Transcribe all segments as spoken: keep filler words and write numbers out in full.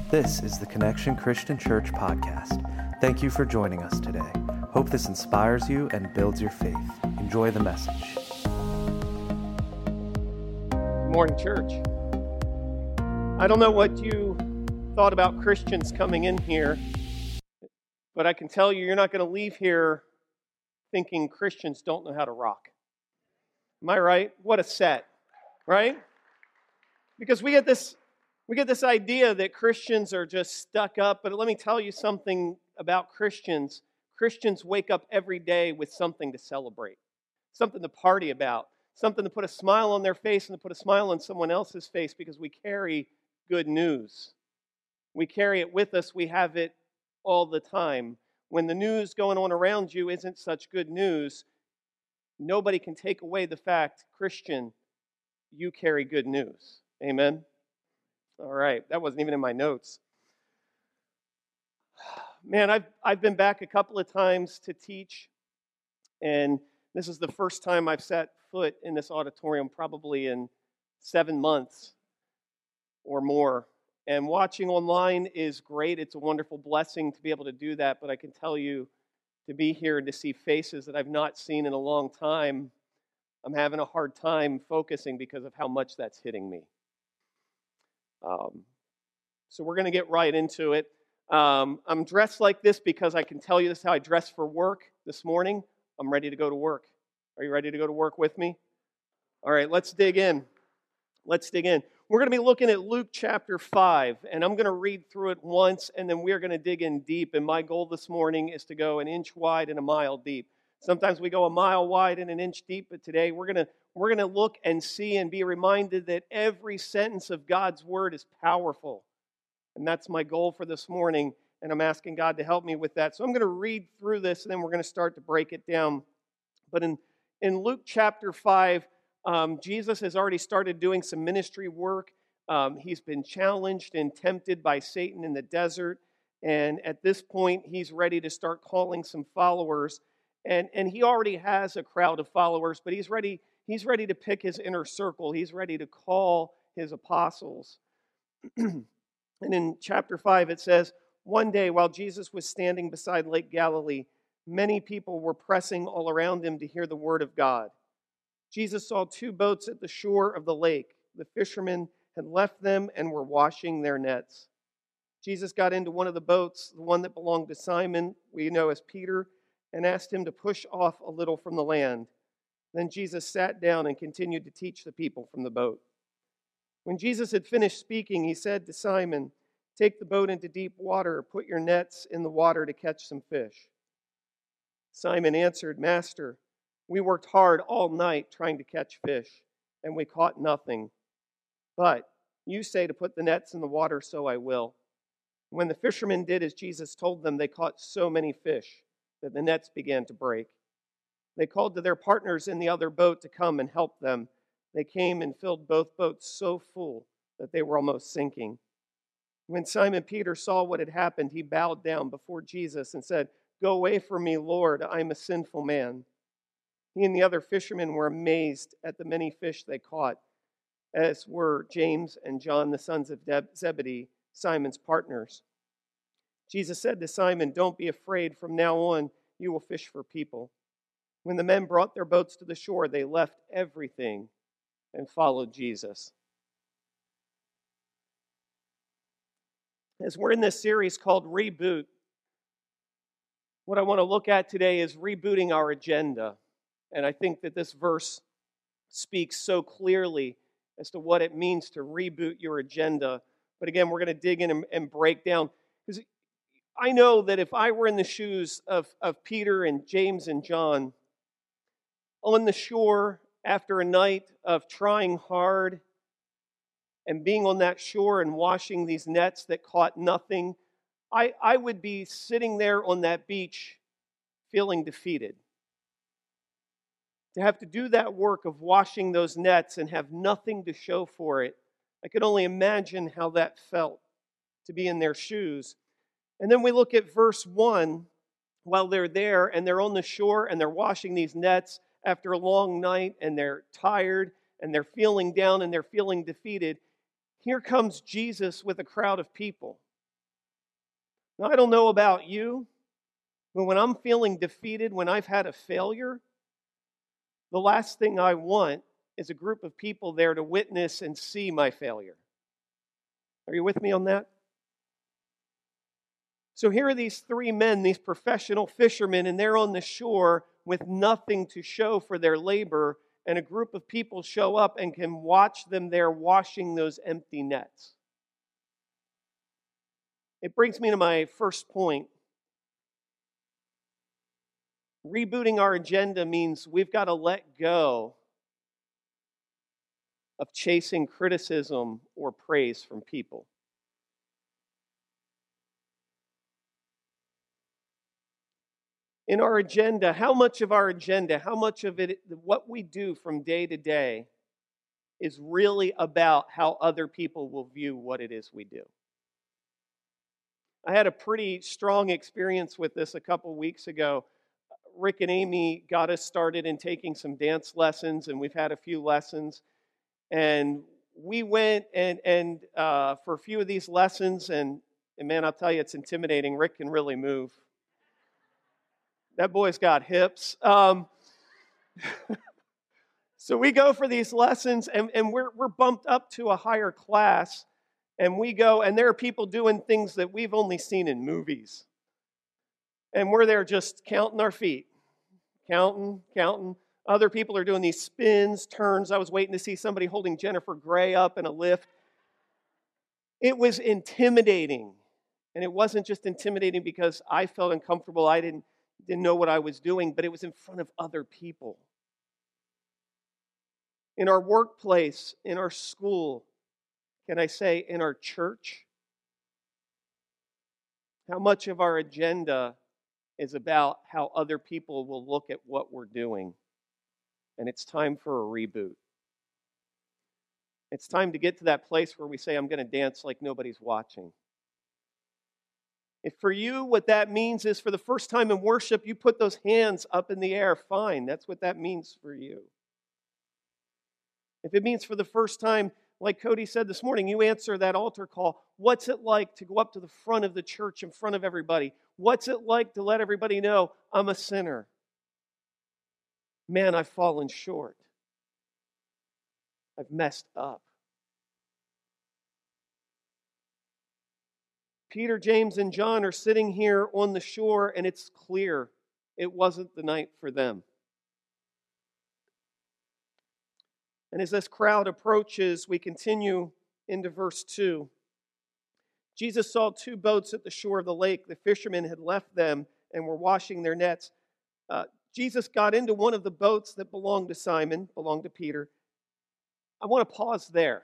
This is the Connection Christian Church podcast. Thank you for joining us today. Hope this inspires you and builds your faith. Enjoy the message. Good morning, church. I don't know what you thought about Christians coming in here, but I can tell you, you're not going to leave here thinking Christians don't know how to rock. Am I right? What a set, right? Because we get this we get this idea that Christians are just stuck up, but let me tell you something about Christians. Christians wake up every day with something to celebrate, something to party about, something to put a smile on their face and to put a smile on someone else's face because we carry good news. We carry it with us. We have it all the time. When the news going on around you isn't such good news, nobody can take away the fact, Christian, you carry good news. Amen? All right, that wasn't even in my notes. Man, I've I've been back a couple of times to teach, and this is the first time I've set foot in this auditorium probably in seven months or more. And watching online is great. It's a wonderful blessing to be able to do that, but I can tell you, to be here and to see faces that I've not seen in a long time, I'm having a hard time focusing because of how much that's hitting me. Um, so we're going to get right into it. Um, I'm dressed like this because I can tell you this is how I dress for work this morning. I'm ready to go to work. Are you ready to go to work with me? All right, let's dig in. Let's dig in. We're going to be looking at Luke chapter five, and I'm going to read through it once, and then we're going to dig in deep. And my goal this morning is to go an inch wide and a mile deep. Sometimes we go a mile wide and an inch deep, but today we're going to we're going to look and see and be reminded that every sentence of God's word is powerful. And that's my goal for this morning, and I'm asking God to help me with that. So I'm going to read through this, and then we're going to start to break it down. But in, in Luke chapter five, um, Jesus has already started doing some ministry work. Um, he's been challenged and tempted by Satan in the desert, and at this point, he's ready to start calling some followers. And, and he already has a crowd of followers, but he's ready, he's ready to pick his inner circle. He's ready to call his apostles. And in chapter five, it says, one day while Jesus was standing beside Lake Galilee, many people were pressing all around him to hear the word of God. Jesus saw two boats at the shore of the lake. The fishermen had left them and were washing their nets. Jesus got into one of the boats, the one that belonged to Simon, we know as Peter, and asked him to push off a little from the land. Then Jesus sat down and continued to teach the people from the boat. When Jesus had finished speaking, he said to Simon, "Take the boat into deep water, put your nets in the water to catch some fish." Simon answered, "Master, we worked hard all night trying to catch fish, and we caught nothing. But you say to put the nets in the water, so I will." When the fishermen did as Jesus told them, they caught so many fish that the nets began to break. They called to their partners in the other boat to come and help them. They came and filled both boats so full that they were almost sinking. When Simon Peter saw what had happened, he bowed down before Jesus and said, "Go away from me, Lord, I am a sinful man." He and the other fishermen were amazed at the many fish they caught, as were James and John, the sons of Zebedee, Simon's partners. Jesus said to Simon, "Don't be afraid. From now on, you will fish for people." When the men brought their boats to the shore, they left everything and followed Jesus. As we're in this series called Reboot, what I want to look at today is rebooting our agenda. And I think that this verse speaks so clearly as to what it means to reboot your agenda. But again, we're going to dig in and, and break down. Because I know that if I were in the shoes of, of Peter and James and John, on the shore after a night of trying hard and being on that shore and washing these nets that caught nothing, I, I would be sitting there on that beach feeling defeated. To have to do that work of washing those nets and have nothing to show for it, I could only imagine how that felt to be in their shoes. And then we look at verse one, while they're there and they're on the shore and they're washing these nets after a long night and they're tired and they're feeling down and they're feeling defeated. Here comes Jesus with a crowd of people. Now, I don't know about you, but when I'm feeling defeated, when I've had a failure, the last thing I want is a group of people there to witness and see my failure. Are you with me on that? So here are these three men, these professional fishermen, and they're on the shore with nothing to show for their labor, and a group of people show up and can watch them there washing those empty nets. It brings me to my first point. Rebooting our agenda means we've got to let go of chasing criticism or praise from people. In our agenda, how much of our agenda, how much of it, what we do from day to day, is really about how other people will view what it is we do? I had a pretty strong experience with this a couple weeks ago. Rick and Amy got us started in taking some dance lessons, and we've had a few lessons. And we went and and uh, for a few of these lessons, and, and man, I'll tell you, it's intimidating. Rick can really move. That boy's got hips. Um, so we go for these lessons, and, and we're we're bumped up to a higher class, and we go, and there are people doing things that we've only seen in movies. And we're there just counting our feet, counting, counting. Other people are doing these spins, turns. I was waiting to see somebody holding Jennifer Grey up in a lift. It was intimidating. And it wasn't just intimidating because I felt uncomfortable. I didn't, didn't know what I was doing, but it was in front of other people. In our workplace, in our school, can I say in our church? How much of our agenda is about how other people will look at what we're doing? And it's time for a reboot. It's time to get to that place where we say, I'm going to dance like nobody's watching. If for you, what that means is for the first time in worship, you put those hands up in the air, fine. That's what that means for you. If it means for the first time, like Cody said this morning, you answer that altar call. What's it like to go up to the front of the church in front of everybody? What's it like to let everybody know I'm a sinner? Man, I've fallen short. I've messed up. Peter, James, and John are sitting here on the shore, and it's clear it wasn't the night for them. And as this crowd approaches, we continue into verse two. Jesus saw two boats at the shore of the lake. The fishermen had left them and were washing their nets. Uh, Jesus got into one of the boats that belonged to Simon, belonged to Peter. I want to pause there.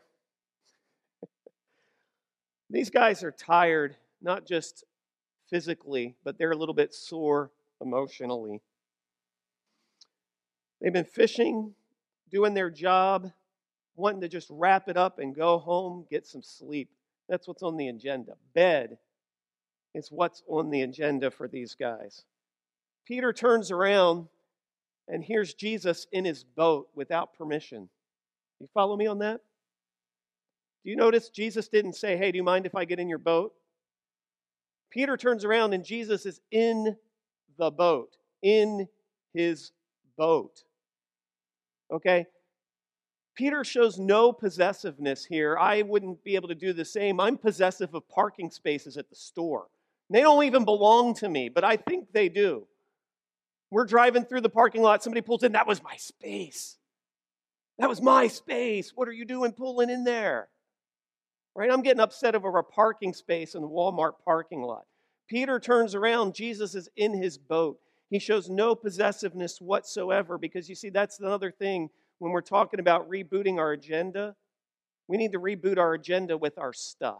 These guys are tired, not just physically, but they're a little bit sore emotionally. They've been fishing, doing their job, wanting to just wrap it up and go home, get some sleep. That's what's on the agenda. Bed is what's on the agenda for these guys. Peter turns around, and here's Jesus in his boat without permission. You follow me on that? Do you notice Jesus didn't say, hey, do you mind if I get in your boat? Peter turns around, and Jesus is in the boat, in his boat. Okay? Peter shows no possessiveness here. I wouldn't be able to do the same. I'm possessive of parking spaces at the store. They don't even belong to me, but I think they do. We're driving through the parking lot. Somebody pulls in. That was my space. That was my space. What are you doing pulling in there? Right? I'm getting upset over a parking space in the Walmart parking lot. Peter turns around. Jesus is in his boat. He shows no possessiveness whatsoever because, you see, that's another thing when we're talking about rebooting our agenda. We need to reboot our agenda with our stuff.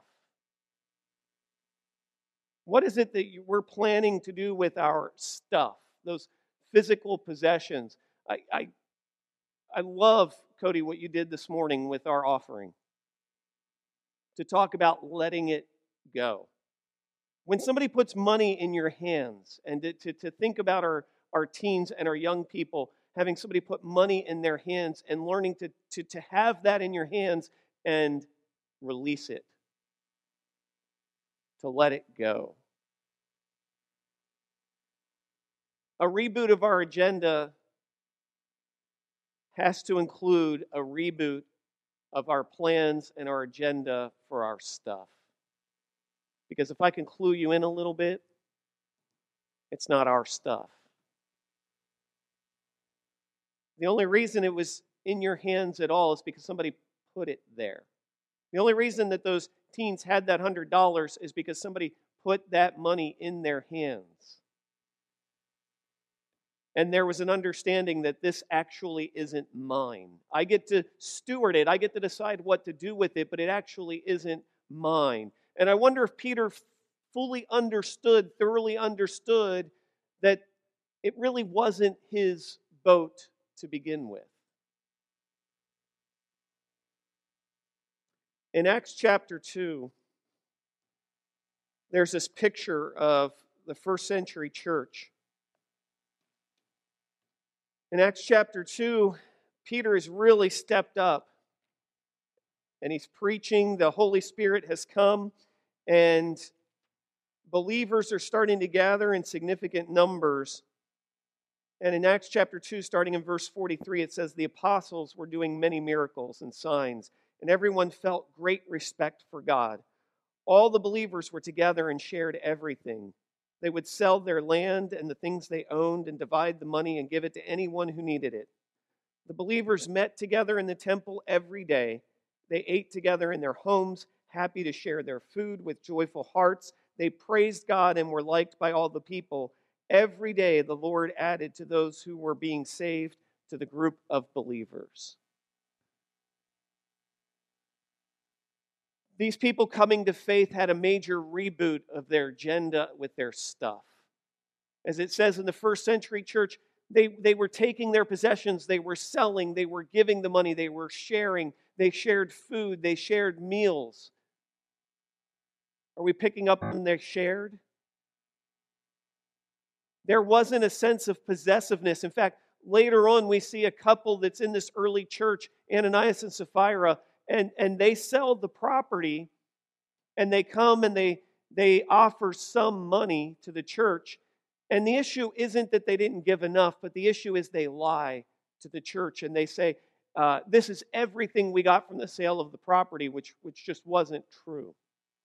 What is it that we're planning to do with our stuff, those physical possessions? I, I, I love, Cody, what you did this morning with our offering, to talk about letting it go. When somebody puts money in your hands, and to, to, to think about our, our teens and our young people, having somebody put money in their hands and learning to, to, to have that in your hands and release it, to let it go. A reboot of our agenda has to include a reboot of our plans and our agenda for our stuff. Because if I can clue you in a little bit, it's not our stuff. The only reason it was in your hands at all is because somebody put it there. The only reason that those teens had that one hundred dollars is because somebody put that money in their hands. And there was an understanding that this actually isn't mine. I get to steward it. I get to decide what to do with it, but it actually isn't mine. And I wonder if Peter fully understood, thoroughly understood, that it really wasn't his boat to begin with. In Acts chapter two, there's this picture of the first century church. In Acts chapter two, Peter has really stepped up and he's preaching. The Holy Spirit has come and believers are starting to gather in significant numbers. And in Acts chapter two, starting in verse forty-three, it says, the apostles were doing many miracles and signs, and everyone felt great respect for God. All the believers were together and shared everything. They would sell their land and the things they owned and divide the money and give it to anyone who needed it. The believers met together in the temple every day. They ate together in their homes, happy to share their food with joyful hearts. They praised God and were liked by all the people. Every day the Lord added to those who were being saved to the group of believers. These people coming to faith had a major reboot of their agenda with their stuff. As it says in the first century church, they, they were taking their possessions, they were selling, they were giving the money, they were sharing, they shared food, they shared meals. Are we picking up on they shared? There wasn't a sense of possessiveness. In fact, later on we see a couple that's in this early church, Ananias and Sapphira, and, and they sell the property and they come and they, they offer some money to the church. And the issue isn't that they didn't give enough, but the issue is they lie to the church and they say, uh, this is everything we got from the sale of the property, which, which just wasn't true.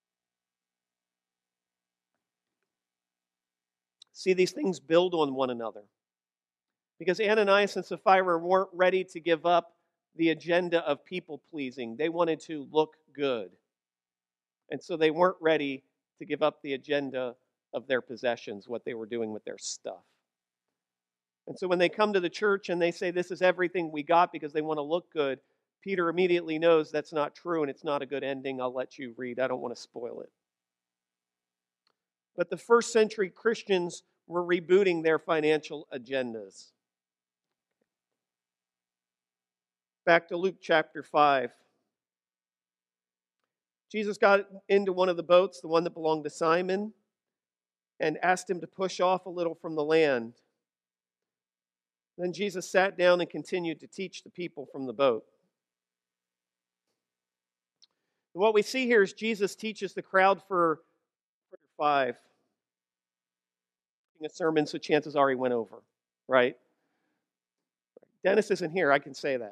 See, these things build on one another. Because Ananias and Sapphira weren't ready to give up the agenda of people-pleasing. They wanted to look good. And so they weren't ready to give up the agenda of their possessions, what they were doing with their stuff. And so when they come to the church and they say, this is everything we got because they want to look good, Peter immediately knows that's not true and it's not a good ending. I'll let you read. I don't want to spoil it. But the first century Christians were rebooting their financial agendas. Back to Luke chapter five. Jesus got into one of the boats, the one that belonged to Simon, and asked him to push off a little from the land. Then Jesus sat down and continued to teach the people from the boat. And what we see here is Jesus teaches the crowd for five. A sermon, so chances are he went over, right? Dennis isn't here, I can say that.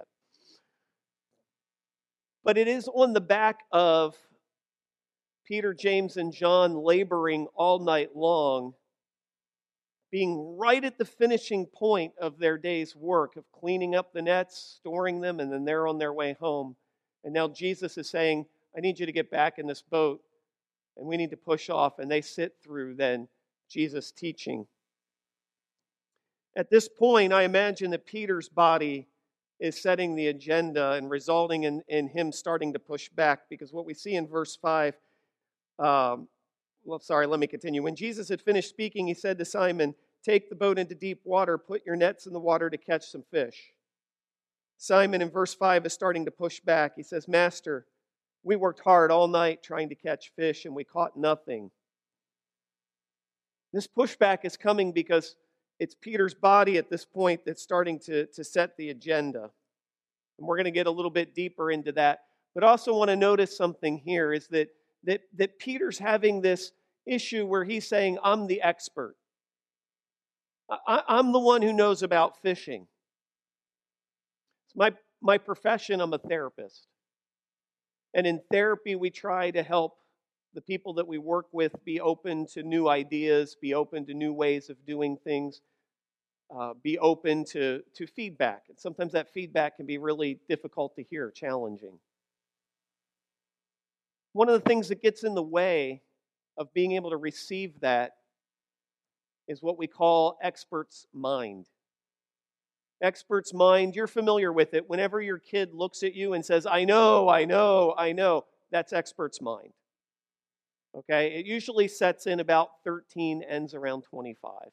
But it is on the back of Peter, James, and John laboring all night long, being right at the finishing point of their day's work of cleaning up the nets, storing them, and then they're on their way home. And now Jesus is saying, I need you to get back in this boat, and we need to push off. And they sit through then Jesus' teaching. At this point, I imagine that Peter's body is setting the agenda and resulting in, in him starting to push back, because what we see in verse five, um, well, sorry, let me continue. When Jesus had finished speaking, he said to Simon, take the boat into deep water, put your nets in the water to catch some fish. Simon in verse five is starting to push back. He says, Master, we worked hard all night trying to catch fish and we caught nothing. This pushback is coming because it's Peter's body at this point that's starting to, to set the agenda. And we're going to get a little bit deeper into that. But also want to notice something here is that, that, that Peter's having this issue where he's saying, I'm the expert. I, I'm the one who knows about fishing. It's my, my profession, I'm a therapist. And in therapy, we try to help the people that we work with be open to new ideas, be open to new ways of doing things, uh, be open to, to feedback. And sometimes that feedback can be really difficult to hear, challenging. One of the things that gets in the way of being able to receive that is what we call expert's mind. Expert's mind, you're familiar with it. Whenever your kid looks at you and says, I know, I know, I know, that's expert's mind. Okay? It usually sets in about thirteen, ends around twenty-five.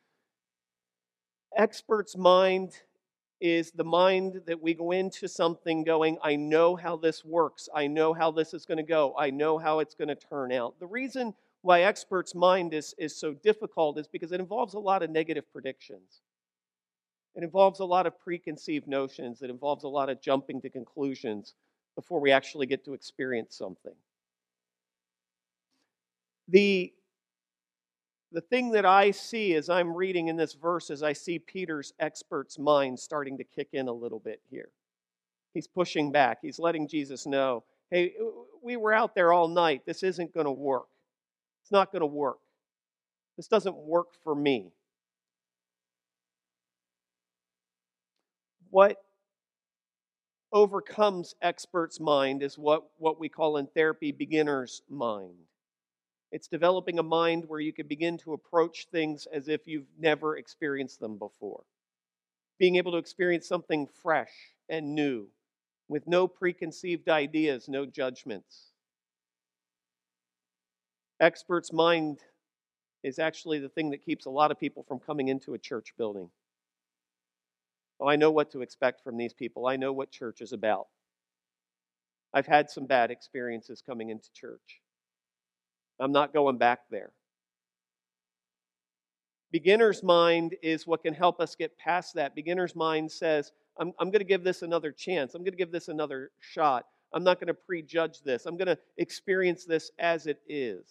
Expert's mind is the mind that we go into something going, I know how this works. I know how this is going to go. I know how it's going to turn out. The reason why expert's mind is, is so difficult is because it involves a lot of negative predictions. It involves a lot of preconceived notions. It involves a lot of jumping to conclusions before we actually get to experience something. The, the thing that I see as I'm reading in this verse is I see Peter's expert's mind starting to kick in a little bit here. He's pushing back. He's letting Jesus know, hey, we were out there all night. This isn't going to work. It's not going to work. This doesn't work for me. What overcomes expert's mind is what, what we call in therapy beginner's mind. It's developing a mind where you can begin to approach things as if you've never experienced them before. Being able to experience something fresh and new with no preconceived ideas, no judgments. Expert's mind is actually the thing that keeps a lot of people from coming into a church building. Oh, I know what to expect from these people. I know what church is about. I've had some bad experiences coming into church. I'm not going back there. Beginner's mind is what can help us get past that. Beginner's mind says, I'm, I'm going to give this another chance. I'm going to give this another shot. I'm not going to prejudge this. I'm going to experience this as it is.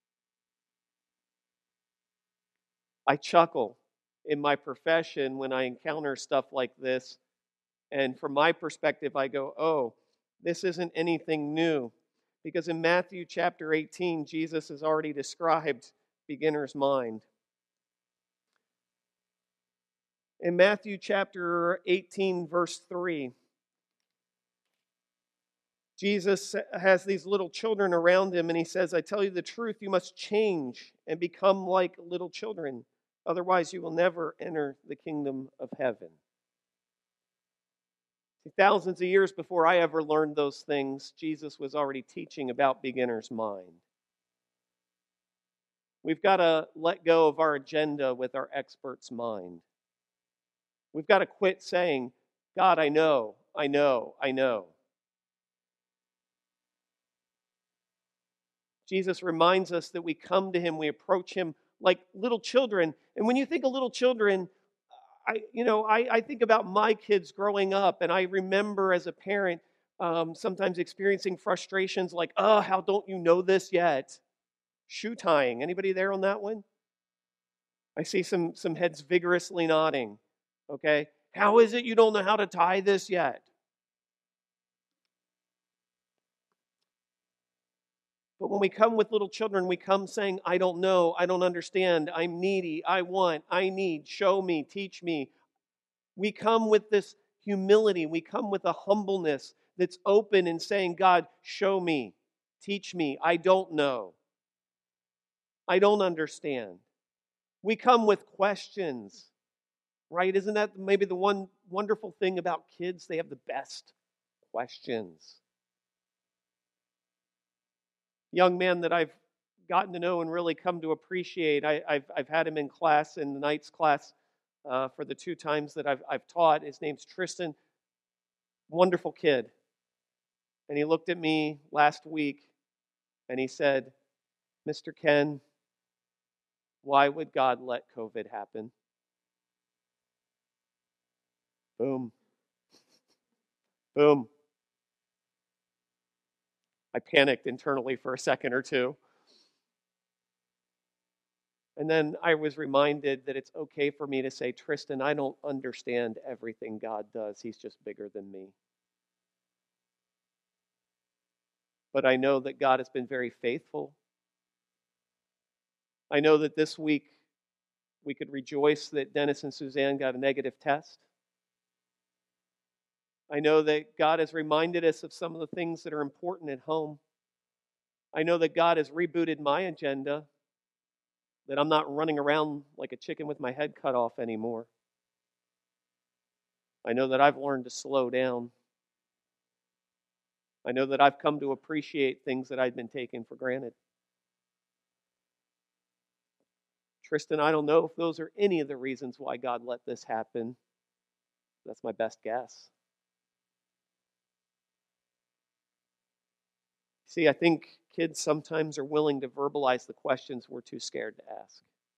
I chuckle in my profession when I encounter stuff like this. And from my perspective, I go, oh, this isn't anything new. Because in Matthew chapter eighteen, Jesus has already described beginner's mind. In Matthew chapter eighteen, verse three, Jesus has these little children around him, and he says, I tell you the truth, you must change and become like little children. Otherwise, you will never enter the kingdom of heaven. Thousands of years before I ever learned those things, Jesus was already teaching about beginner's mind. We've got to let go of our agenda with our expert's mind. We've got to quit saying, God, I know, I know, I know. Jesus reminds us that we come to him, we approach him like little children. And when you think of little children, I, you know, I, I think about my kids growing up, and I remember as a parent um, sometimes experiencing frustrations like, oh, how don't you know this yet? Shoe tying. Anybody there on that one? I see some, some heads vigorously nodding. Okay. How is it you don't know how to tie this yet? But when we come with little children, we come saying, I don't know, I don't understand, I'm needy, I want, I need, show me, teach me. We come with this humility. We come with a humbleness that's open and saying, God, show me, teach me. I don't know. I don't understand. We come with questions, right? Isn't that maybe the one wonderful thing about kids? They have the best questions. Young man that I've gotten to know and really come to appreciate, I, I've, I've had him in class, in the night's class, Uh, for the two times that I've, I've taught. His name's Tristan. Wonderful kid. And he looked at me last week and he said, Mister Ken, why would God let COVID happen? Boom. Boom. I panicked internally for a second or two. And then I was reminded that it's okay for me to say, Tristan, I don't understand everything God does. He's just bigger than me. But I know that God has been very faithful. I know that this week we could rejoice that Dennis and Suzanne got a negative test. I know that God has reminded us of some of the things that are important at home. I know that God has rebooted my agenda, that I'm not running around like a chicken with my head cut off anymore. I know that I've learned to slow down. I know that I've come to appreciate things that I'd been taking for granted. Tristan, I don't know if those are any of the reasons why God let this happen. That's my best guess. See, I think kids sometimes are willing to verbalize the questions we're too scared to ask.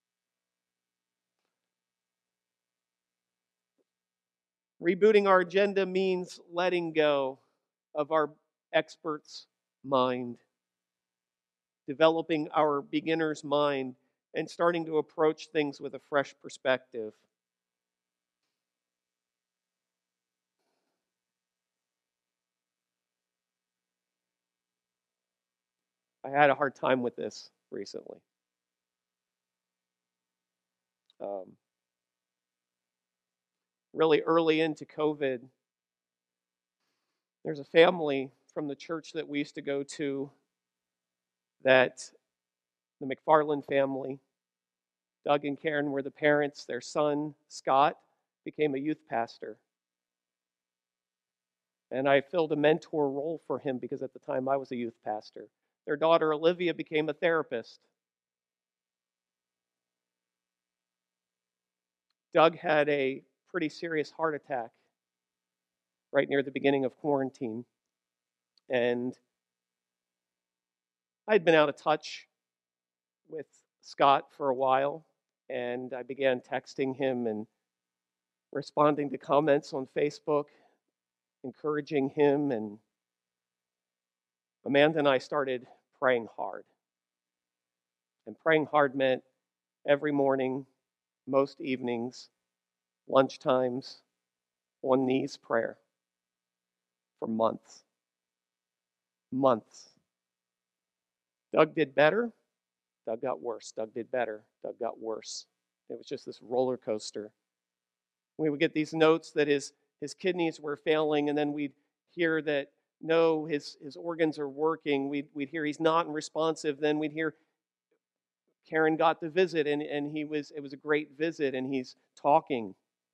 Rebooting our agenda means letting go of our expert's mind, developing our beginner's mind, and starting to approach things with a fresh perspective. I had a hard time with this recently. Um, really early into COVID, there's a family from the church that we used to go to, that the McFarland family. Doug and Karen were the parents. Their son, Scott, became a youth pastor. And I filled a mentor role for him because at the time I was a youth pastor. Their daughter, Olivia, became a therapist. Doug had a pretty serious heart attack right near the beginning of quarantine. And I'd been out of touch with Scott for a while, and I began texting him and responding to comments on Facebook, encouraging him, and Amanda and I started praying hard. And praying hard meant every morning, most evenings, lunchtimes, on knees prayer for months. Months. Doug did better. Doug got worse. Doug did better. Doug got worse. It was just this roller coaster. We would get these notes that his, his kidneys were failing, and then we'd hear that, no, his, his organs are working. We'd, we'd hear he's not responsive. Then we'd hear Karen got the visit, and, and he was it was a great visit, and he's talking.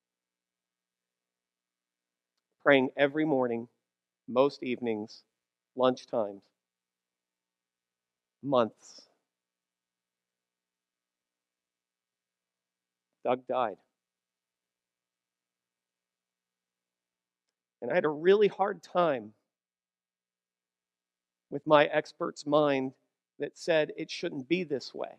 Praying every morning, most evenings, lunchtimes. Months. Doug died. And I had a really hard time with my expert's mind that said it shouldn't be this way.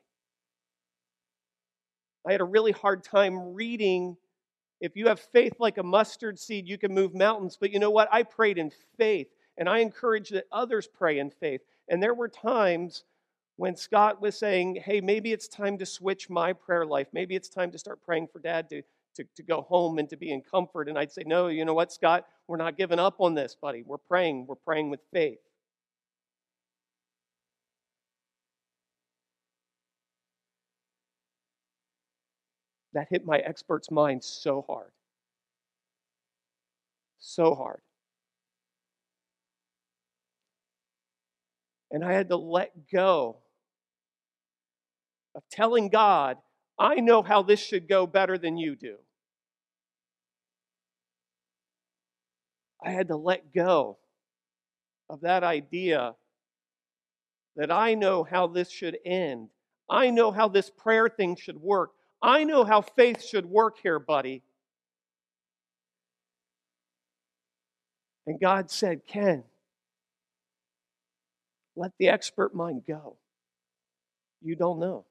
I had a really hard time reading, if you have faith like a mustard seed, you can move mountains. But you know what? I prayed in faith, and I encourage that others pray in faith. And there were times when Scott was saying, hey, maybe it's time to switch my prayer life. Maybe it's time to start praying for Dad to, to, to go home and to be in comfort. And I'd say, no, you know what, Scott? We're not giving up on this, buddy. We're praying. We're praying with faith. That hit my expert's mind so hard. So hard. And I had to let go of telling God, I know how this should go better than you do. I had to let go of that idea that I know how this should end. I know how this prayer thing should work. I know how faith should work here, buddy. And God said, Ken, let the expert mind go. You don't know.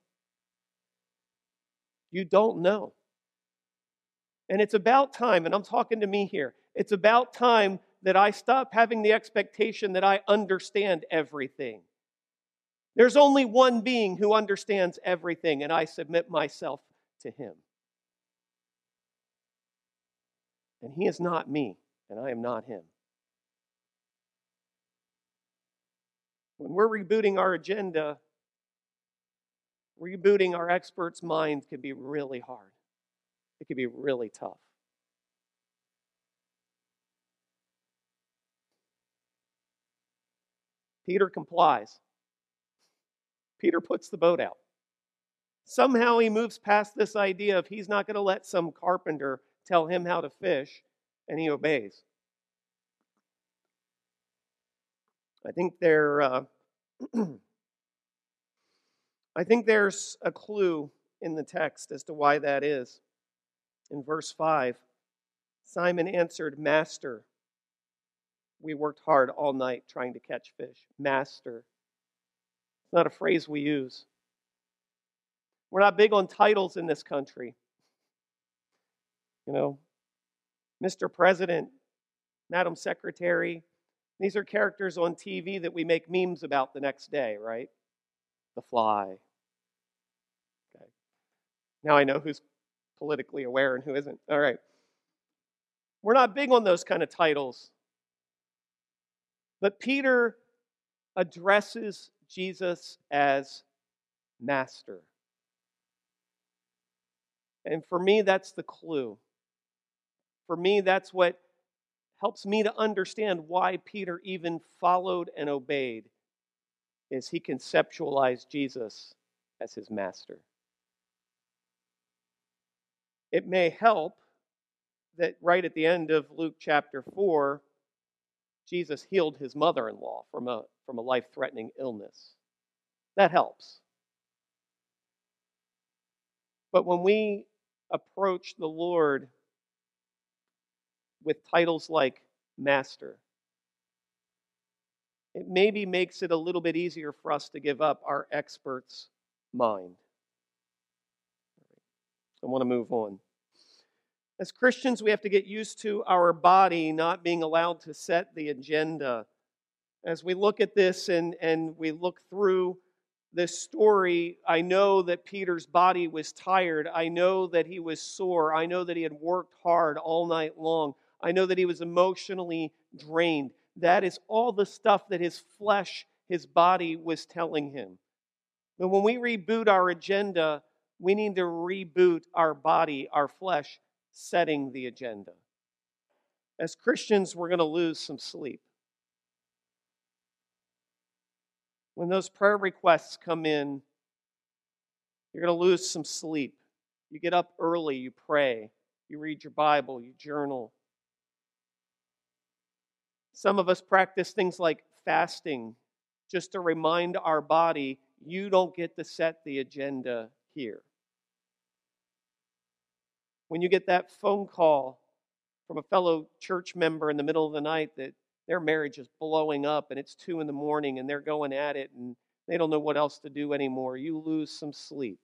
You don't know. And it's about time, and I'm talking to me here, it's about time that I stop having the expectation that I understand everything. There's only one being who understands everything, and I submit myself to him. And he is not me, and I am not him. When we're rebooting our agenda, rebooting our experts' minds can be really hard. It can be really tough. Peter complies. Peter puts the boat out. Somehow he moves past this idea of he's not going to let some carpenter tell him how to fish, and he obeys. I think there, uh, I think there's a clue in the text as to why that is. In verse five, Simon answered, "Master, we worked hard all night trying to catch fish." Master. It's not a phrase we use. We're not big on titles in this country. You know, Mister President, Madam Secretary, these are characters on T V that we make memes about the next day, right? The Fly. Okay. Now I know who's politically aware and who isn't. All right. We're not big on those kind of titles. But Peter addresses Jesus as Master. And for me, that's the clue. For me, that's what helps me to understand why Peter even followed and obeyed, is he conceptualized Jesus as his master. It may help that right at the end of Luke chapter four, Jesus healed his mother-in-law from a, from a life-threatening illness. That helps. But when we approach the Lord with titles like Master, it maybe makes it a little bit easier for us to give up our expert's mind. I want to move on. As Christians, we have to get used to our body not being allowed to set the agenda. As we look at this and, and we look through this story, I know that Peter's body was tired. I know that he was sore. I know that he had worked hard all night long. I know that he was emotionally drained. That is all the stuff that his flesh, his body was telling him. But when we reboot our agenda, we need to reboot our body, our flesh, setting the agenda. As Christians, we're going to lose some sleep. When those prayer requests come in, you're going to lose some sleep. You get up early, you pray, you read your Bible, you journal. Some of us practice things like fasting just to remind our body, you don't get to set the agenda here. When you get that phone call from a fellow church member in the middle of the night that their marriage is blowing up and it's two in the morning and they're going at it and they don't know what else to do anymore, you lose some sleep.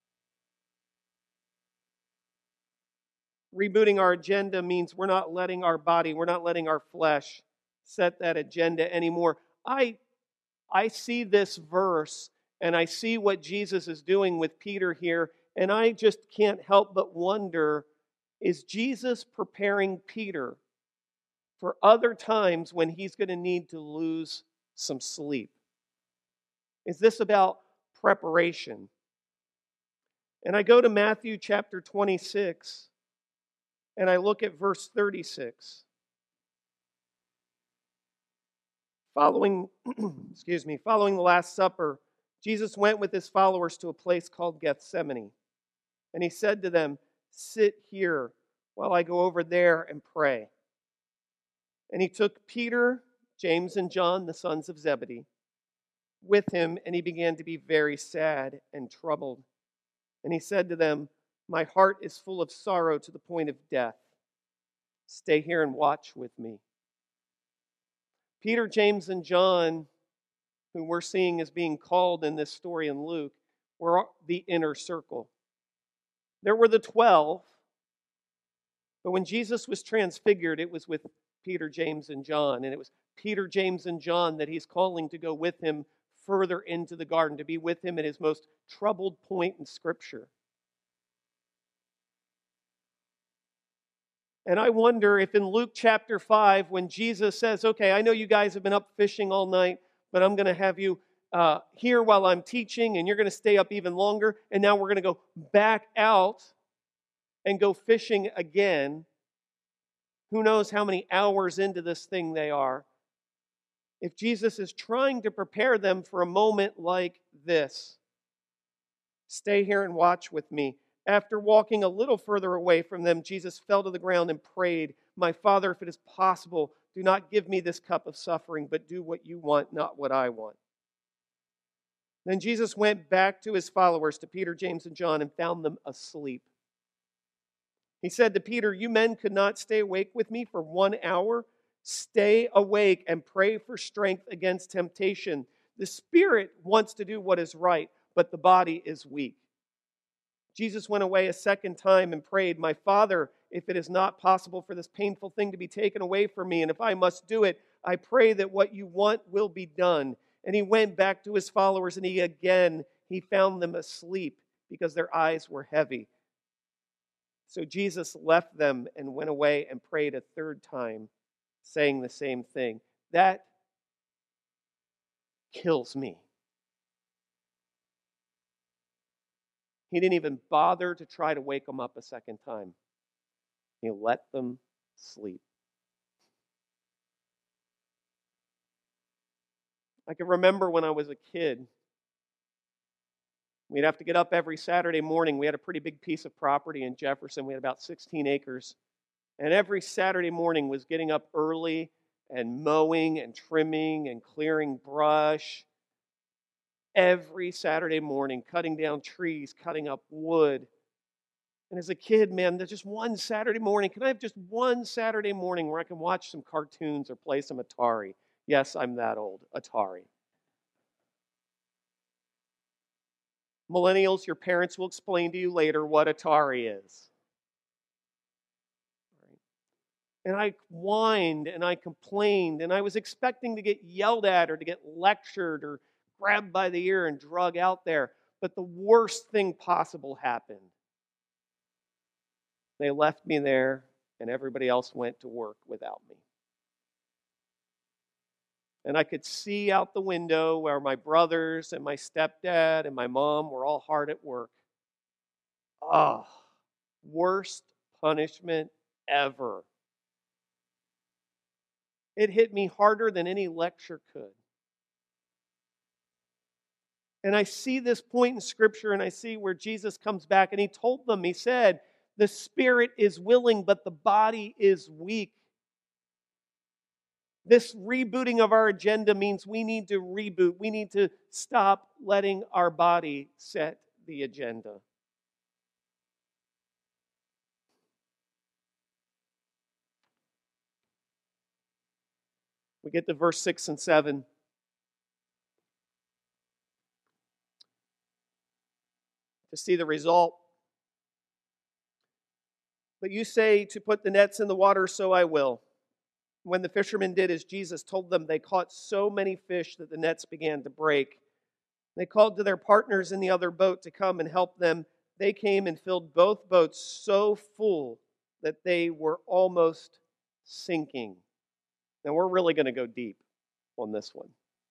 Rebooting our agenda means we're not letting our body, we're not letting our flesh set that agenda anymore. I, I see this verse and I see what Jesus is doing with Peter here, and I just can't help but wonder, is Jesus preparing Peter for other times when he's going to need to lose some sleep? Is this about preparation? And I go to Matthew chapter twenty-six, and I look at verse thirty-six. Following, excuse me, following the Last Supper, Jesus went with his followers to a place called Gethsemane. And he said to them, "Sit here while I go over there and pray." And he took Peter, James, and John, the sons of Zebedee, with him, and he began to be very sad and troubled. And he said to them, "My heart is full of sorrow to the point of death. Stay here and watch with me." Peter, James, and John, who we're seeing as being called in this story in Luke, were the inner circle. There were the twelve, but when Jesus was transfigured, it was with Peter, James, and John. And it was Peter, James, and John that he's calling to go with him further into the garden, to be with him at his most troubled point in Scripture. And I wonder if in Luke chapter five, when Jesus says, okay, I know you guys have been up fishing all night, but I'm going to have you uh, here while I'm teaching, and you're going to stay up even longer, and now we're going to go back out and go fishing again. Who knows how many hours into this thing they are. If Jesus is trying to prepare them for a moment like this, stay here and watch with me. After walking a little further away from them, Jesus fell to the ground and prayed, "My Father, if it is possible, do not give me this cup of suffering, but do what you want, not what I want." Then Jesus went back to his followers, to Peter, James, and John, and found them asleep. He said to Peter, "You men could not stay awake with me for one hour? Stay awake and pray for strength against temptation. The spirit wants to do what is right, but the body is weak." Jesus went away a second time and prayed, "My Father, if it is not possible for this painful thing to be taken away from me, and if I must do it, I pray that what you want will be done." And he went back to his followers, and he again, he found them asleep because their eyes were heavy. So Jesus left them and went away and prayed a third time, saying the same thing. That kills me. He didn't even bother to try to wake them up a second time. He let them sleep. I can remember when I was a kid, we'd have to get up every Saturday morning. We had a pretty big piece of property in Jefferson. We had about sixteen acres. And every Saturday morning was getting up early and mowing and trimming and clearing brush. Every Saturday morning, cutting down trees, cutting up wood. And as a kid, man, there's just one Saturday morning. Can I have just one Saturday morning where I can watch some cartoons or play some Atari? Yes, I'm that old. Atari. Millennials, your parents will explain to you later what Atari is. And I whined and I complained, and I was expecting to get yelled at or to get lectured or grabbed by the ear and drug out there. But the worst thing possible happened. They left me there, and everybody else went to work without me. And I could see out the window where my brothers and my stepdad and my mom were all hard at work. Ah, oh, worst punishment ever. It hit me harder than any lecture could. And I see this point in Scripture, and I see where Jesus comes back, and he told them, he said, the spirit is willing, but the body is weak. This rebooting of our agenda means we need to reboot. We need to stop letting our body set the agenda. We get to verse six and seven. To see the result. But you say to put the nets in the water, so I will. When the fishermen did as Jesus told them, they caught so many fish that the nets began to break. They called to their partners in the other boat to come and help them. They came and filled both boats so full that they were almost sinking. Now we're really going to go deep on this one.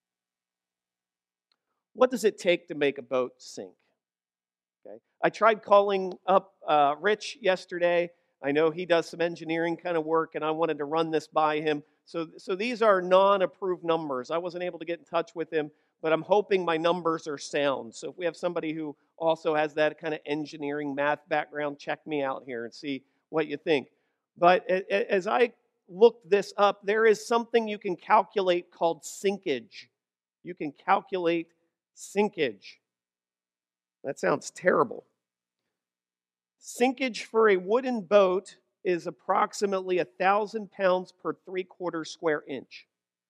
What does it take to make a boat sink? Okay. I tried calling up uh, Rich yesterday. I know he does some engineering kind of work, and I wanted to run this by him. So, so these are non-approved numbers. I wasn't able to get in touch with him, but I'm hoping my numbers are sound. So if we have somebody who also has that kind of engineering, math background, check me out here and see what you think. But as I looked this up, there is something you can calculate called sinkage. You can calculate sinkage. That sounds terrible. Sinkage for a wooden boat is approximately one thousand pounds per three-quarter square inch.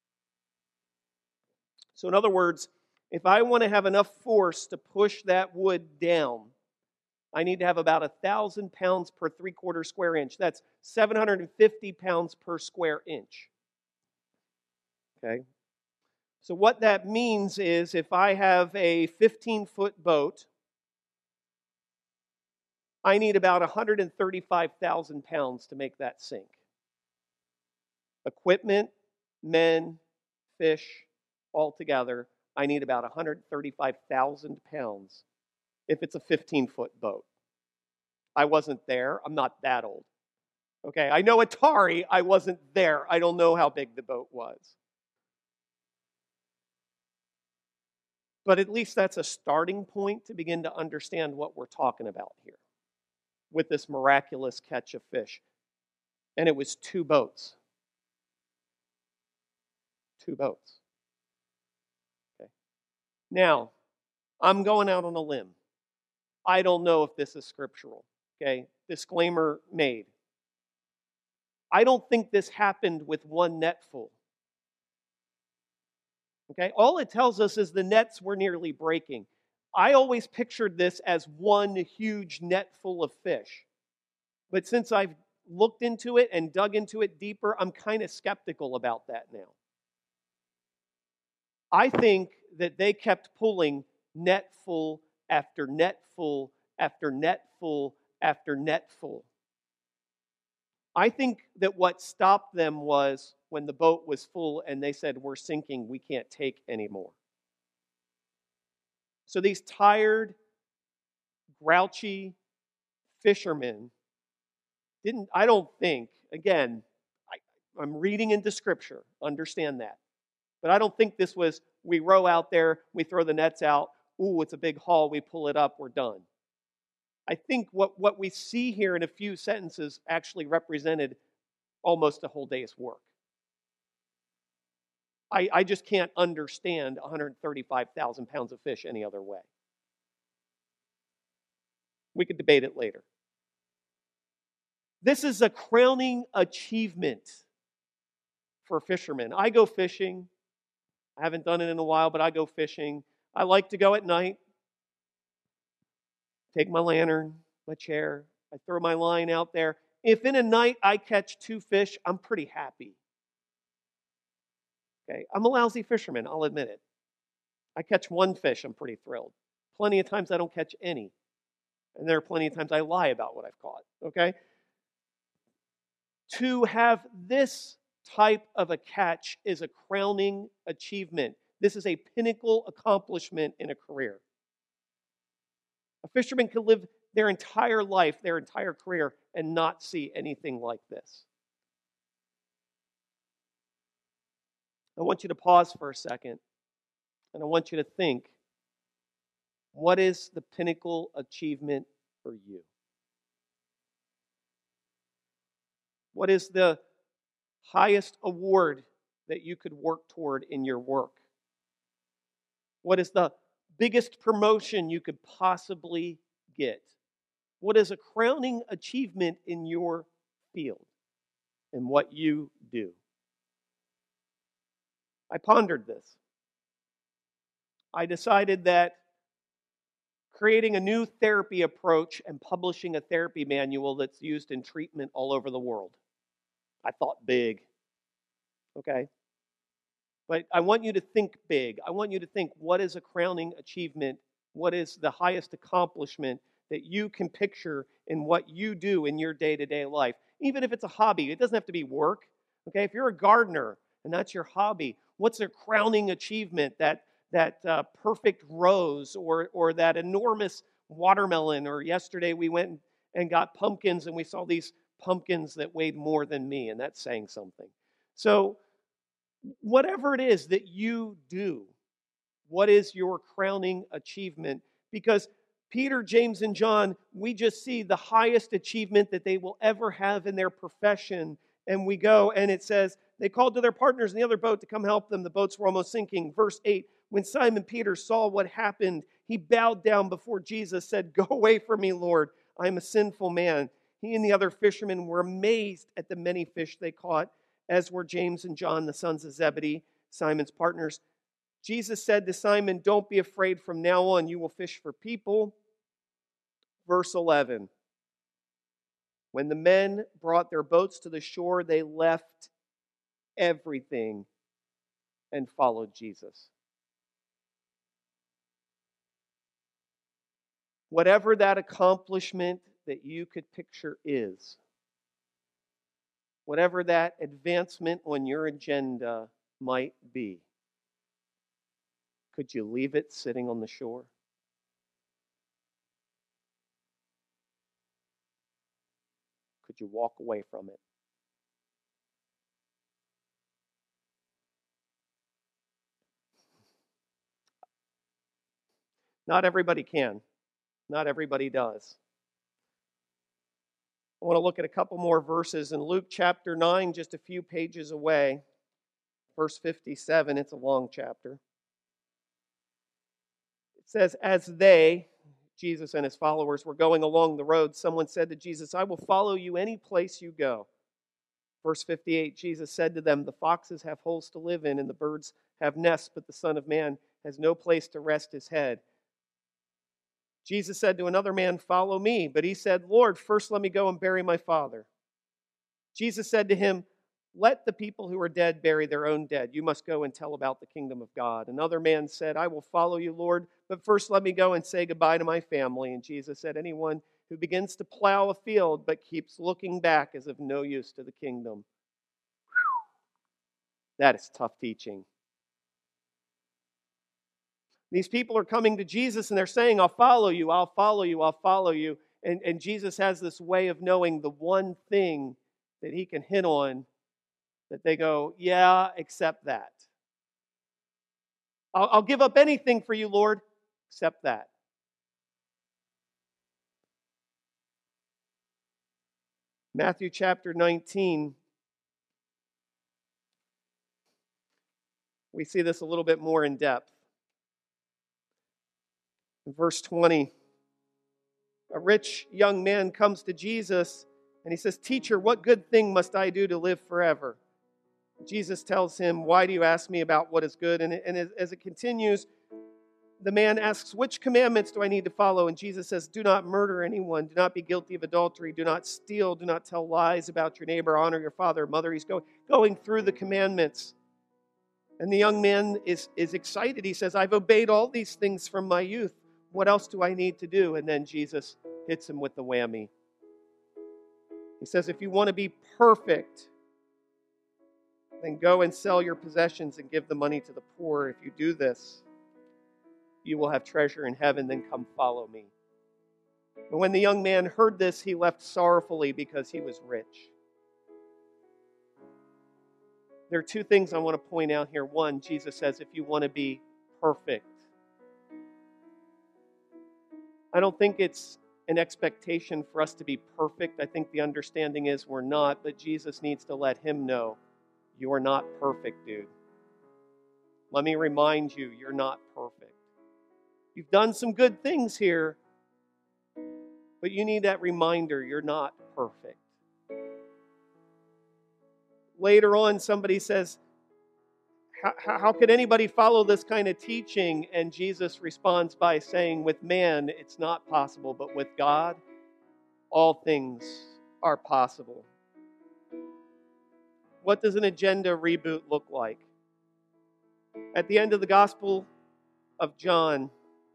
So in other words, if I want to have enough force to push that wood down, I need to have about one thousand pounds per three-quarter square inch. That's seven hundred fifty pounds per square inch. Okay? So what that means is if I have a fifteen-foot boat, I need about one hundred thirty-five thousand pounds to make that sink. Equipment, men, fish, all together, I need about one hundred thirty-five thousand pounds if it's a fifteen-foot boat. I wasn't there. I'm not that old. Okay, I know Atari. I wasn't there. I don't know how big the boat was. But at least that's a starting point to begin to understand what we're talking about here with this miraculous catch of fish. And it was two boats. Two boats. Okay. Now, I'm going out on a limb. I don't know if this is scriptural. Okay, disclaimer made. I don't think this happened with one net full. Okay, all it tells us is the nets were nearly breaking. I always pictured this as one huge net full of fish. But since I've looked into it and dug into it deeper, I'm kind of skeptical about that now. I think that they kept pulling net full after net full after net full after net full. I think that what stopped them was when the boat was full and they said, we're sinking, we can't take anymore. So these tired, grouchy fishermen didn't, I don't think, again, I, I'm reading into Scripture, understand that. But I don't think this was, we row out there, we throw the nets out, ooh, it's a big haul, we pull it up, we're done. I think what, what we see here in a few sentences actually represented almost a whole day's work. I, I just can't understand one hundred thirty-five thousand pounds of fish any other way. We could debate it later. This is a crowning achievement for fishermen. I go fishing. I haven't done it in a while, but I go fishing. I like to go at night. Take my lantern, my chair. I throw my line out there. If in a night I catch two fish, I'm pretty happy. Okay, I'm a lousy fisherman, I'll admit it. I catch one fish, I'm pretty thrilled. Plenty of times I don't catch any. And there are plenty of times I lie about what I've caught, okay? To have this type of a catch is a crowning achievement. This is a pinnacle accomplishment in a career. A fisherman could live their entire life, their entire career, and not see anything like this. I want you to pause for a second, and I want you to think, what is the pinnacle achievement for you? What is the highest award that you could work toward in your work? What is the biggest promotion you could possibly get? What is a crowning achievement in your field and what you do? I pondered this. I decided that creating a new therapy approach and publishing a therapy manual that's used in treatment all over the world. I thought big. Okay? But I want you to think big. I want you to think, what is a crowning achievement? What is the highest accomplishment that you can picture in what you do in your day-to-day life? Even if it's a hobby, it doesn't have to be work. Okay, if you're a gardener and that's your hobby, what's a crowning achievement? That that uh, perfect rose or or that enormous watermelon? Or yesterday we went and got pumpkins and we saw these pumpkins that weighed more than me, and that's saying something. So whatever it is that you do, what is your crowning achievement? Because Peter, James, and John, we just see the highest achievement that they will ever have in their profession. And we go, and it says, they called to their partners in the other boat to come help them. The boats were almost sinking. Verse eight, when Simon Peter saw what happened, he bowed down before Jesus, said, "Go away from me, Lord. I am a sinful man." He and the other fishermen were amazed at the many fish they caught, as were James and John, the sons of Zebedee, Simon's partners. Jesus said to Simon, "Don't be afraid. From now on, you will fish for people." Verse eleven. When the men brought their boats to the shore, they left everything and followed Jesus. Whatever that accomplishment that you could picture is, whatever that advancement on your agenda might be, could you leave it sitting on the shore? Could you walk away from it? Not everybody can. Not everybody does. I want to look at a couple more verses in Luke chapter nine, just a few pages away. Verse fifty-seven, it's a long chapter. It says, as they, Jesus and his followers, were going along the road, someone said to Jesus, I will follow you any place you go. Verse fifty-eight, Jesus said to them, the foxes have holes to live in and the birds have nests, but the Son of Man has no place to rest his head. Jesus said to another man, follow me. But he said, Lord, first let me go and bury my father. Jesus said to him, let the people who are dead bury their own dead. You must go and tell about the kingdom of God. Another man said, I will follow you, Lord, but first let me go and say goodbye to my family. And Jesus said, anyone who begins to plow a field but keeps looking back is of no use to the kingdom. Whew. That is tough teaching. These people are coming to Jesus and they're saying, I'll follow you, I'll follow you, I'll follow you. And, and Jesus has this way of knowing the one thing that he can hit on that they go, yeah, except that. I'll, I'll give up anything for you, Lord, except that. Matthew chapter nineteen. We see this a little bit more in depth. In verse twenty, a rich young man comes to Jesus and he says, Teacher, what good thing must I do to live forever? Jesus tells him, why do you ask me about what is good? And, and as it continues, the man asks, which commandments do I need to follow? And Jesus says, do not murder anyone, do not be guilty of adultery, do not steal, do not tell lies about your neighbor, honor your father and mother. He's going, going through the commandments. And the young man is, is excited. He says, I've obeyed all these things from my youth. What else do I need to do? And then Jesus hits him with the whammy. He says, if you want to be perfect, then go and sell your possessions and give the money to the poor. If you do this, you will have treasure in heaven. Then come follow me. But when the young man heard this, he left sorrowfully because he was rich. There are two things I want to point out here. One, Jesus says, if you want to be perfect, I don't think it's an expectation for us to be perfect. I think the understanding is we're not, but Jesus needs to let him know, you're not perfect, dude. Let me remind you, you're not perfect. You've done some good things here, but you need that reminder, you're not perfect. Later on, somebody says, how, how could anybody follow this kind of teaching? And Jesus responds by saying, with man, it's not possible, but with God, all things are possible. What does an agenda reboot look like? At the end of the Gospel of John,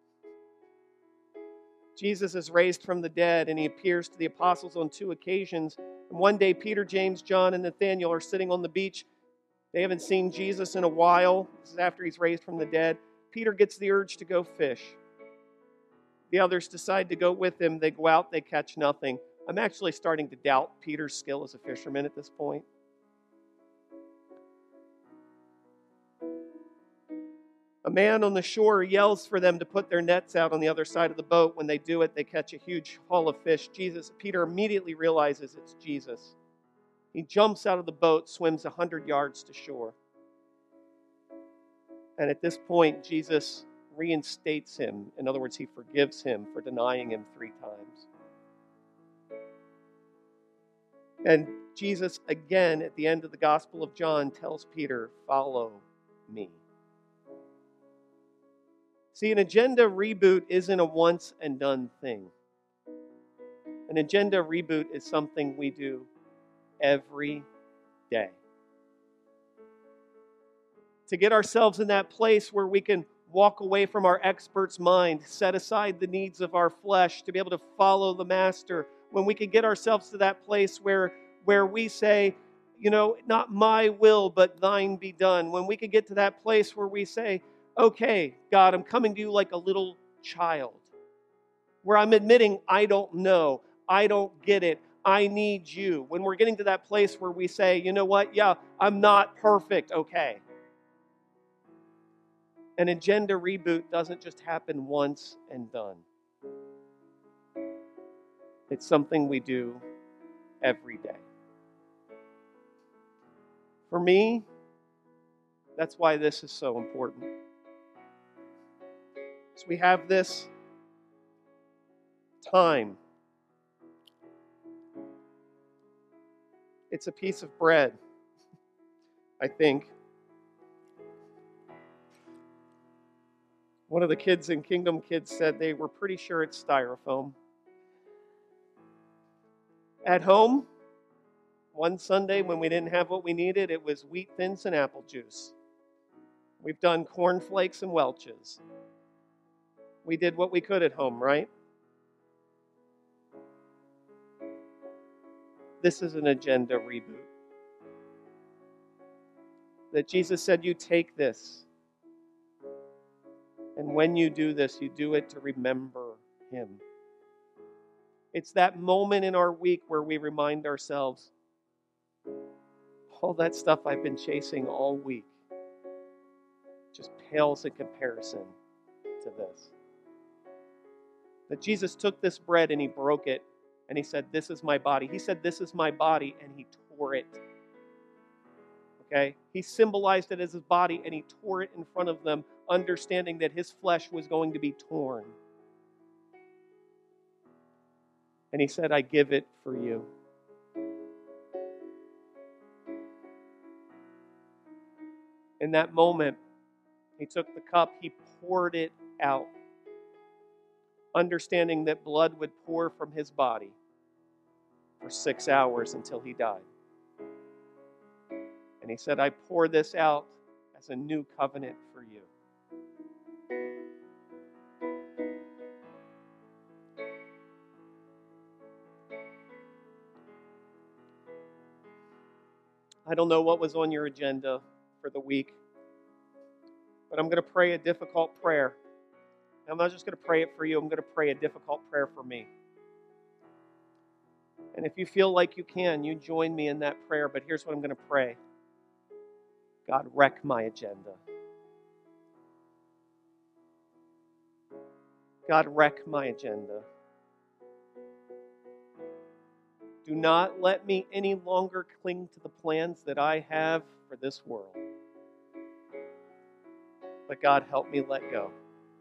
Jesus is raised from the dead and he appears to the apostles on two occasions. And one day, Peter, James, John, and Nathanael are sitting on the beach. They haven't seen Jesus in a while. This is after he's raised from the dead. Peter gets the urge to go fish. The others decide to go with him. They go out, they catch nothing. I'm actually starting to doubt Peter's skill as a fisherman at this point. A man on the shore yells for them to put their nets out on the other side of the boat. When they do it, they catch a huge haul of fish. Jesus, Peter immediately realizes it's Jesus. He jumps out of the boat, swims one hundred yards to shore. And at this point, Jesus reinstates him. In other words, he forgives him for denying him three times. And Jesus, again, at the end of the Gospel of John, tells Peter, follow me. See, an agenda reboot isn't a once and done thing. An agenda reboot is something we do every day. to get ourselves in that place where we can walk away from our expert's mind, set aside the needs of our flesh to be able to follow the Master. When we can get ourselves to that place where, where we say, you know, not my will, but thine be done. When we can get to that place where we say, okay, God, I'm coming to you like a little child, where I'm admitting I don't know, I don't get it, I need you. When we're getting to that place where we say, you know what, yeah, I'm not perfect, okay. An agenda reboot doesn't just happen once and done. It's something we do every day. For me, that's why this is so important. So we have this time. It's a piece of bread, I think. One of the kids in Kingdom Kids said they were pretty sure it's styrofoam. At home, one Sunday when we didn't have what we needed, it was wheat thins and apple juice. We've done cornflakes and Welch's. We did what we could at home, right? This is an agenda reboot. That Jesus said, you take this. And when you do this, you do it to remember Him. It's that moment in our week where we remind ourselves, all that stuff I've been chasing all week just pales in comparison to this. That Jesus took this bread and He broke it and He said, this is my body. He said, this is my body, and He tore it. Okay? He symbolized it as His body, and He tore it in front of them, understanding that His flesh was going to be torn. And He said, I give it for you. In that moment, He took the cup, He poured it out, understanding that blood would pour from His body for six hours until He died. And He said, I pour this out as a new covenant for you. I don't know what was on your agenda for the week, but I'm going to pray a difficult prayer. I'm not just going to pray it for you, I'm going to pray a difficult prayer for me. And if you feel like you can, you join me in that prayer, but here's what I'm going to pray. God, wreck my agenda. God, wreck my agenda. Do not let me any longer cling to the plans that I have for this world. But God, help me let go.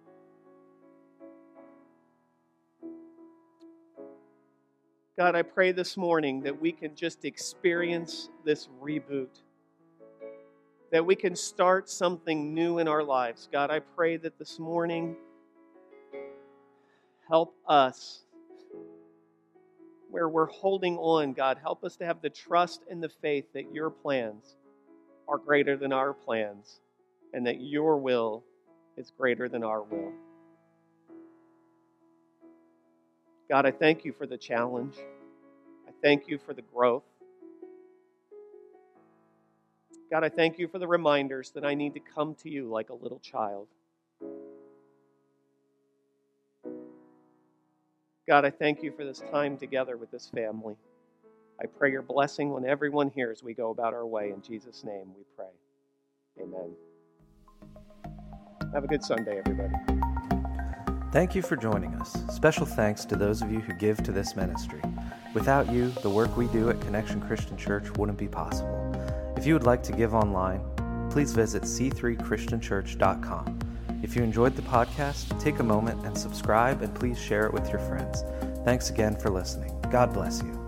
God, I pray this morning that we can just experience this reboot. That we can start something new in our lives. God, I pray that this morning, help us where we're holding on. God, help us to have the trust and the faith that your plans are greater than our plans and that your will is greater than our will. God, I thank you for the challenge. I thank you for the growth. God, I thank you for the reminders that I need to come to you like a little child. God, I thank you for this time together with this family. I pray your blessing on everyone here as we go about our way. In Jesus' name we pray. Amen. Have a good Sunday, everybody. Thank you for joining us. Special thanks to those of you who give to this ministry. Without you, the work we do at Connection Christian Church wouldn't be possible. If you would like to give online, please visit c three christian church dot com. If you enjoyed the podcast, take a moment and subscribe, and please share it with your friends. Thanks again for listening. God bless you.